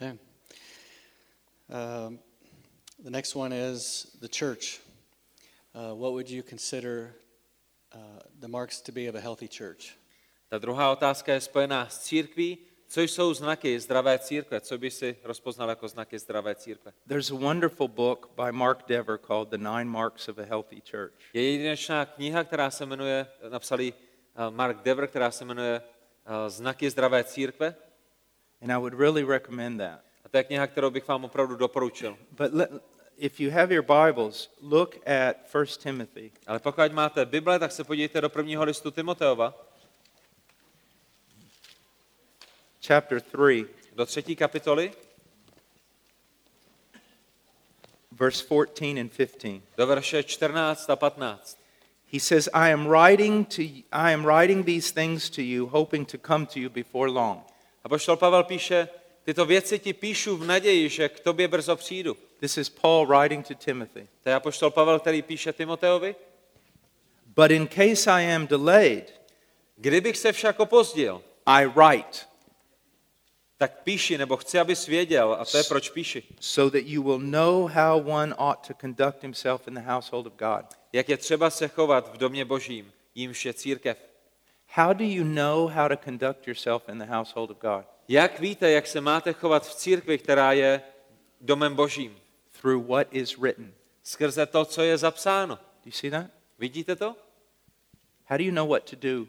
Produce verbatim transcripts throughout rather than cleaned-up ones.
Okay. Um, the next one is the church. Uh, what would you consider uh, the marks to be of a healthy church? Ta druhá otázka je spojená s církví. Co jsou znaky zdravé církve? Co by si rozpoznal jako znaky zdravé církve? There's a wonderful book by Mark Dever called The Nine Marks of a Healthy Church. Je jedinečná kniha, která se jmenuje, napsal ji Mark Dever, která se jmenuje Znaky zdravé církve. And I would really recommend that. A to je kniha, kterou bych vám opravdu doporučil. But let, if you have your Bibles, look at First Timothy. Ale pokud máte Bible, tak se podívejte do prvního listu Timoteova. Chapter three, Do třetí kapitoly, verse fourteen and fifteen. do verše čtrnáct a patnáct. He says, I am writing to I am writing these things to you, hoping to come to you before long. Apoštol Pavel píše, tyto věci ti píšu v naději, že k tobě brzo přijdu. This is Paul writing to Timothy. To je apoštol Pavel, který píše Timoteovi. But in case I am delayed, Kdybych se však opozdil, I write, tak píši, nebo chci, abys věděl, a to je proč píši. so that you will know how one ought to conduct himself in the household of God. Jak je třeba se chovat v domě Božím, jímž je církev. How do you know how to conduct yourself in the household of God? Jak víte, jak se máte chovat v církvi, která je domem Božím? Through what is written. Skrze to, co je zapsáno. Do you see that? Vidíte to? How do you know what to do?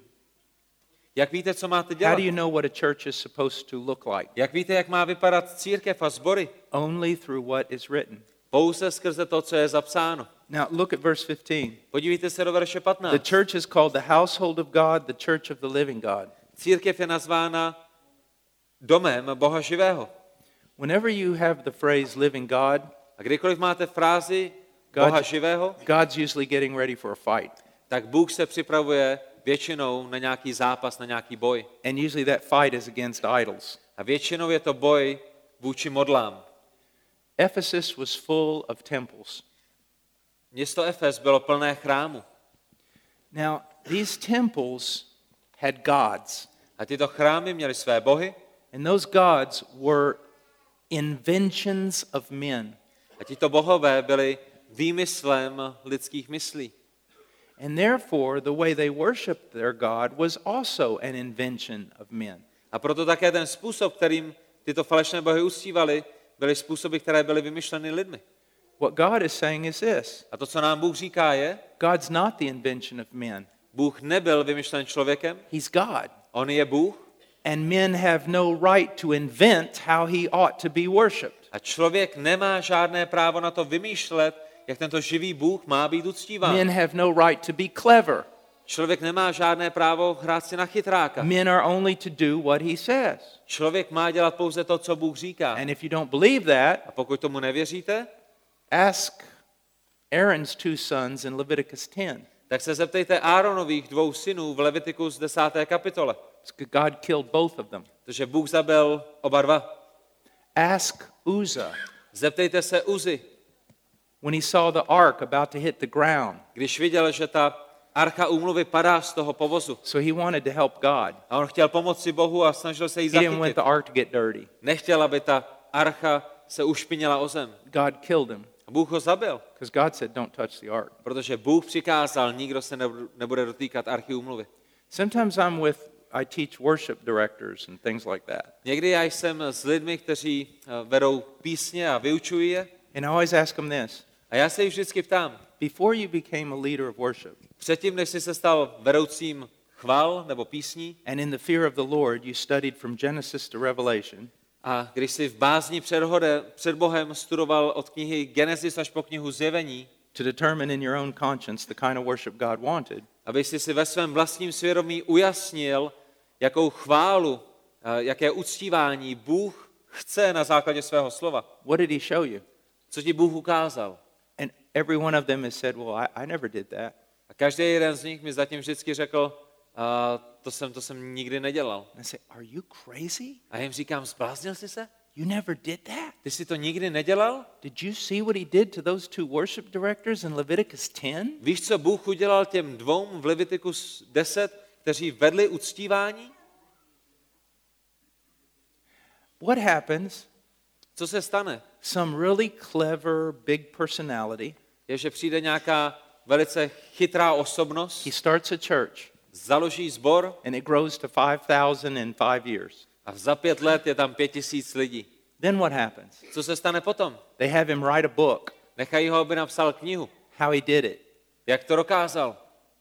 Jak víte, co máte How dělat? do you know what a church is supposed to look like? Jak víte, jak má vypadat církev a sbory? Only through what is written. Pouze skrze to, co je zapsáno. Now look at verse fifteen. Podívejte se do verše The patnáct. church is called the household of God, the church of the living God. Církev je nazvána domem Boha živého. Whenever you have the phrase living God, A kdykoliv máte frázi God- Boha živého, God's usually getting ready for a fight. tak Bůh se připravuje většinou na nějaký zápas, na nějaký boj. And usually that fight is against idols. A většinou je to boj vůči modlám. Ephesus was full of temples. Město Efes bylo plné chrámu. Now, these temples had gods, A tyto chrámy měly své bohy and those gods were inventions of men. a tito bohové byli výmyslem lidských myslí. And therefore, the way they worshiped their God was also an invention of men. A proto také ten způsob, kterým tyto falešné bohy uctívali, byly způsoby, které byly vymyšleny lidmi. What God is saying is this: A to, co nám Bůh říká, je, God's not the invention of men. Bůh nebyl vymyšlen člověkem, He's God. on je Bůh And men have no right to invent how he ought to be worshipped. a člověk nemá žádné právo na to vymýšlet, jak tento živý Bůh má být uctíván. Men have no right to be clever. Člověk nemá žádné právo hrát si na chytráka. Men are only to do what he says. Člověk má dělat pouze to, co Bůh říká. And if you don't believe that, A pokud tomu nevěříte, ask Aaron's two sons in Leviticus ten. tak se zeptejte Áronových dvou synů v Levitikus desáté kapitole, God killed both of them. protože Bůh zabil oba dva. Ask Uzzah Zeptejte se Uzy, when he saw the ark about to hit the ground. když viděl, že ta archa úmluvy padá z toho povozu. So he wanted to help God. A on chtěl pomoci Bohu a snažil se jí He didn't want zachytit. the ark to get dirty. Nechtěl, aby ta archa se ušpinila o zem. God killed him A Bůh ho zabil, because God said, don't touch the ark. protože Bůh přikázal, nikdo se nebude dotýkat archy úmluvy. Sometimes I'm with, I teach worship directors and things like that. Někdy já jsem s lidmi, kteří eh, vedou písně a vyučují je. And I always ask them this: A já se jich vždycky ptám, before you became a leader of worship předtím, než jsi se stal vedoucím chval nebo písní, and in the fear of the Lord you studied from Genesis to Revelation, a když jsi v bázni před, hode, před Bohem studoval od knihy Genesis až po knihu Zjevení, to determine in your own conscience the kind of worship God wanted, aby jsi si ve svém vlastním svědomí ujasnil, jakou chválu, eh, jaké uctívání Bůh chce na základě svého slova. what did he show you? Co ti Bůh ukázal? And every one of them has said, well, I, I never did that. A každý jeden z nich mi zatím vždycky řekl, uh, to, jsem, to jsem nikdy nedělal. And I say, are you crazy? A já jim říkám, zbláznil jsi se? You never did that? Ty jsi to nikdy nedělal? Did you see what he did to those two worship directors in Leviticus ten? Víš, co Bůh udělal těm dvou v Levitikus deset, kteří vedli uctívání? What happens Co se stane? Some really clever big personality. Je, že přijde nějaká velice chytrá osobnost, He starts a church založí sbor and it grows to five thousand in five years. a za pět let je tam pět tisíc lidí. Then what happens? Co se stane potom? They have him write a book, Nechají ho, aby napsal knihu. how he did it. Jak to dokázal?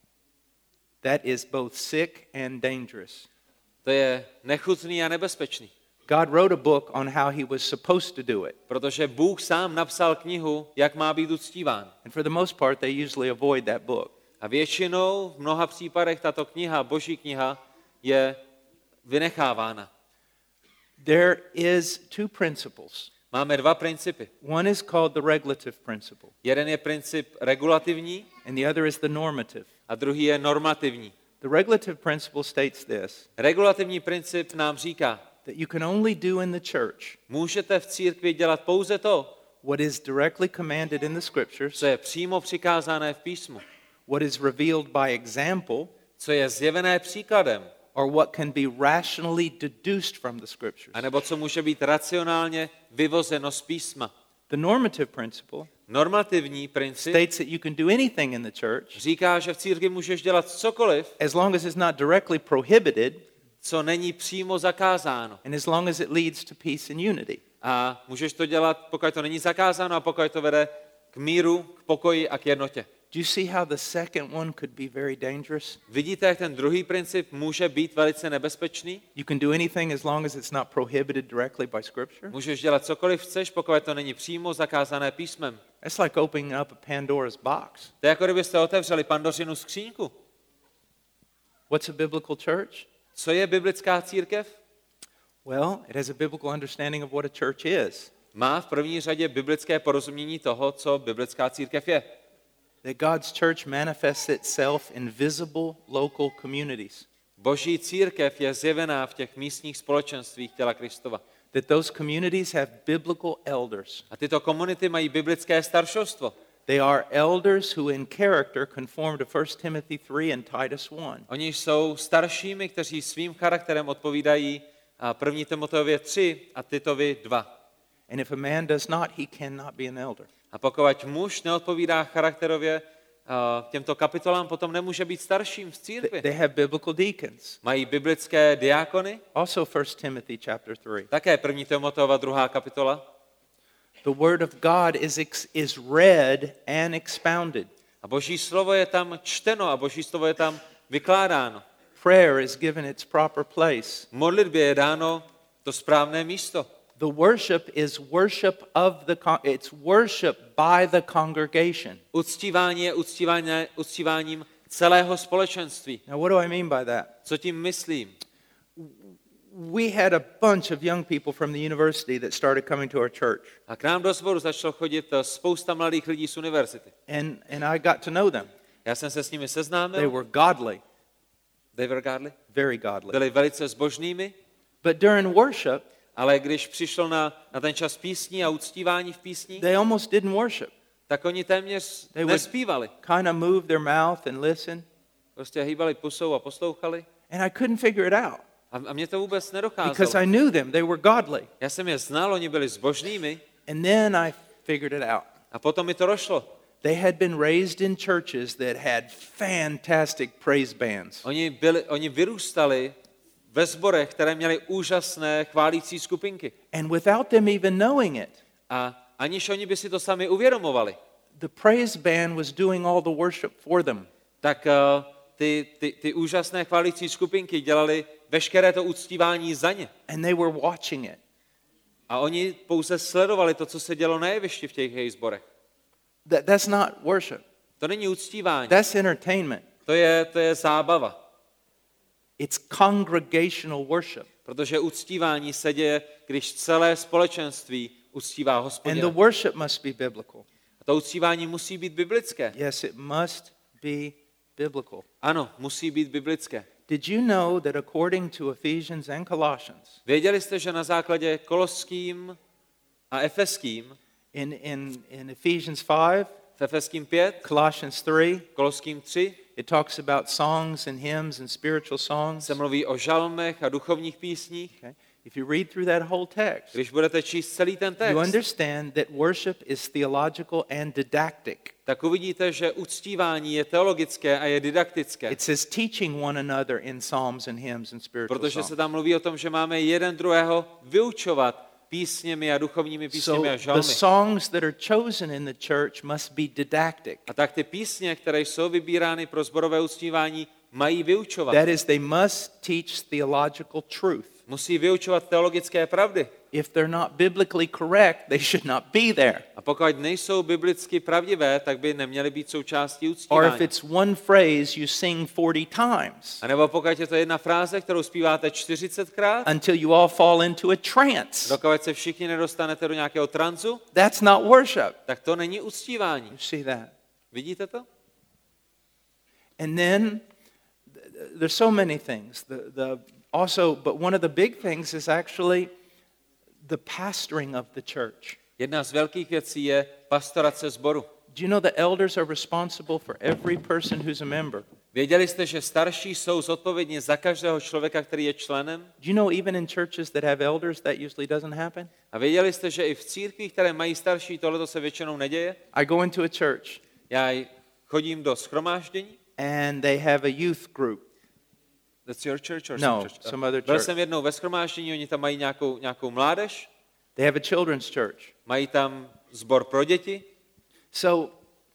That is both sick and dangerous. To je nechutný a nebezpečný. God wrote a book on how he was supposed to do it. Protože Bůh sám napsal knihu, jak má být uctíván. And for the most part, they usually avoid that book. A většinou v mnoha případech tato kniha, Boží kniha, je vynechávána. There is two principles. Máme dva principy. One is called the regulative principle, Jeden je princip regulativní and the other is the normative. a druhý je normativní. The regulative principle states this, Regulativní princip nám říká, that you can only do in the church můžete v církvi dělat pouze to, what is directly commanded in the scriptures, co je přímo přikázané v písmu, what is revealed by example, co je zjevené příkladem, or what can be rationally deduced from the scriptures. anebo co může být racionálně vyvozeno z písma. The normative principle Normativní princip states that you can do anything in the church říká, že v církvi můžeš dělat cokoliv, as long as it's not directly prohibited co není přímo zakázáno. and as long as it leads to peace and unity. A můžeš to dělat, pokud to není zakázáno a pokud to vede k míru, k pokoji a k jednotě. Do you see how the second one could be very dangerous? Vidíte, jak ten druhý princip může být velice nebezpečný? You can do anything as long as it's not prohibited directly by scripture. Můžeš dělat cokoliv chceš, pokud to není přímo zakázané písmem. That's like opening up a Pandora's box. To je jako kdybyste otevřeli Pandořinu skříňku. What's a biblical church? Co je biblická církev? Well, it has a biblical understanding of what a church is. Má v první řadě biblické porozumění toho, co biblická církev je. That God's church manifests itself in visible local communities. Boží církev je zjevená v těch místních společenstvích těla Kristova. That those communities have biblical elders. A tyto komunity mají biblické staršovstvo. They are elders who in character conform to First Timothy three and Titus one. Oni jsou staršími, kteří svým charakterem odpovídají první Timoteově tři a Titovi dva. And if a man does not, he cannot be an elder. A pokud muž neodpovídá charakterově těmto kapitolám, potom nemůže být starším v církvi. They have biblical deacons. Mají biblické diákony, Also First Timothy chapter three. také první Timoteova druhá kapitola. The word of God is ex- is read and expounded. A Boží slovo je tam čteno a Boží slovo je tam vykládáno. Prayer is given its proper place. Modlitbě je dáno to správné místo. The worship is worship of the con- it's worship by the congregation. Uctívání je uctívání, uctíváním celého společenství. Now what do I mean by that? Co tím myslím? We had a bunch of young people from the university that started coming to our church. A k nám do sboru začalo chodit spousta mladých lidí z univerzity. And and I got to know them. Já jsem se s nimi They seznámil. were godly, They were godly. very godly. Byli velice zbožnými, But during worship, ale když přišlo na, na ten čas písní a uctívání v písní, they almost didn't worship. tak oni téměř They would nespívali. kind of move their mouth and listen. Prostě hýbali pusou a poslouchali. And I couldn't figure it out A, a mě to vůbec because nedocházelo. I knew them. They were godly. Já jsem je znal, oni byli zbožnými And then I figured it out. a potom mi to došlo. They had been raised in churches that had fantastic praise bands. Oni, byli, oni vyrůstali ve sborech, které měly úžasné chválící skupinky. And without them even knowing it, A aniž oni by si to sami uvědomovali, the praise band was doing all the worship for them. tak uh, ty, ty, ty úžasné chválící skupinky dělali veškeré to uctívání za ně. And they were watching it. A oni pouze sledovali to, co se dělo na jevišti v těch jejich sborech. That, that's not worship. To není uctívání, That's entertainment. to je, to je zábava. It's congregational worship. Protože uctívání se děje, když celé společenství uctívá And the Hospodina. worship must be biblical. A to uctívání musí být biblické. Yes, it must be biblical. Ano, musí být biblické. Did you know that according to Ephesians and Colossians, Věděli jste, že na základě Koloským a Efeským, in, in, in Ephesians five, v Efeským pět, Colossians three, Koloským tři, it talks about songs and hymns and spiritual songs. se mluví o žalmech a duchovních písních. Okay. If you read through that whole text, Když budete číst celý ten you text, understand that worship is theological and didactic. tak uvidíte, že uctívání je teologické a je dydaktické. It says teaching one another in psalms and hymns and spiritual Protože songs. se tam mluví o tom, že máme jeden druhého vyučovat písněmi a duchovními písněmi So a the žalmy. songs that are chosen in the church must be didactic. A tak ty písně, které jsou vybírány pro sborové uctívání, mají vyučovat. That is, they must teach theological truth. Musí vyučovat teologické pravdy. If they're not biblically correct, they should not be there. A pokud nejsou biblicky pravdivé, tak by neměly být součástí Or if uctívání. it's one phrase you sing forty times A nebo pokud je to jedna fráze, kterou zpíváte čtyřicetkrát, until you all fall into a trance, dokud se všichni nedostanete do nějakého tranzu, that's not worship. tak to není uctívání. You see that? Vidíte to? And then th- there's so many things. The, the, also, but one of the big things is actually the pastoring of the church. Jedna z velkých věcí je pastorace sboru. Do you know the elders are responsible for every person who's a member? Věděli jste, že starší jsou zodpovědní za každého člověka, který je členem? Do you know even in churches that have elders that usually doesn't happen? A věděli jste, že i v církvích, které mají starší, tohleto se většinou neděje? I go into a church Já chodím do shromáždění. and they have a youth group. That's your church or No, some church? some other Byl church. jsem jednou ve shromáždění, oni tam mají nějakou, nějakou mládež, They have a children's church. mají tam sbor pro děti So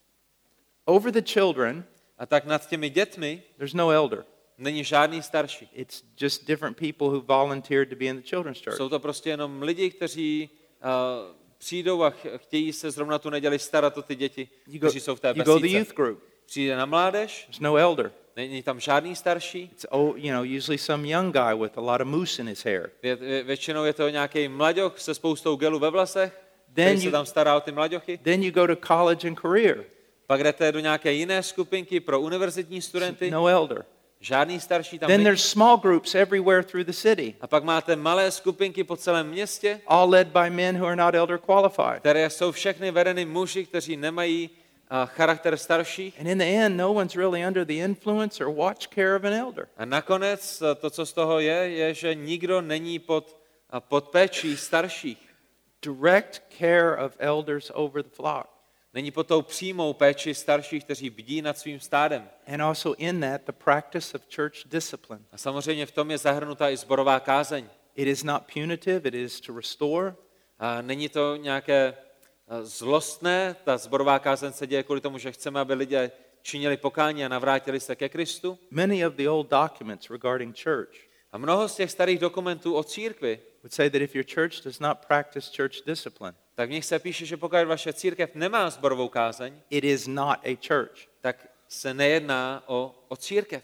over the children, a tak nad těmi dětmi there's no elder. není žádný starší. It's just different people who volunteered to be in the children's church. Jsou to prostě jenom lidi, kteří uh, přijdou a ch- chtějí se zrovna tu neděli starat o ty děti, You go, kteří jsou v té you go to the besídce. youth group. Přijde na mládež, There's no elder. není tam žádný starší, It's oh, you know, usually some young guy with a lot of mousse in his hair. Vě, vě, většinou je to nějaký mlaďoch se spoustou gelu ve vlasech, Then který se you- tam stará o ty mlaďochy. Then you go to college and career. Pak jdete do nějaké jiné skupinky pro univerzitní studenty, No elder. žádný starší tam Then není. there's small groups everywhere through the city, A pak máte malé skupinky po celém městě, all led by men who are not elder qualified. které jsou všechny vedeny muži, kteří nemají a, charakter starších. And in the end, no one's really under the influence or watch care of an elder. A nakonec a to, co z toho je, je, že nikdo není pod, a, pod péčí starších. Direct care of elders over the flock. Není pod tou přímou péči starších, kteří bdí nad svým stádem. And also in that, the practice of church discipline. A samozřejmě v tom je zahrnutá i zborová kázeň. It is not punitive, it is to restore. A není to nějaké a, zlostné, ta zborová kázeň se děje kvůli tomu, že chceme, aby lidé činili pokání a navrátili se ke Kristu. Many of the old documents regarding church A mnoho z těch starých dokumentů o církvi, would say that if your church does not practice church discipline, tak v nich se píše, že pokud vaše církev nemá zborovou kázeň, it is not a church. tak se nejedná o, o církev.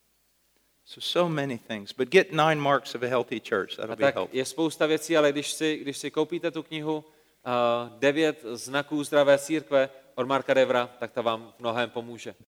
So, so many things. But get nine marks of a healthy church. That'll A be tak helpful. je spousta věcí, ale když si, když si koupíte tu knihu uh, Devět znaků zdravé církve od Marka Devra, tak ta vám v mnohém pomůže.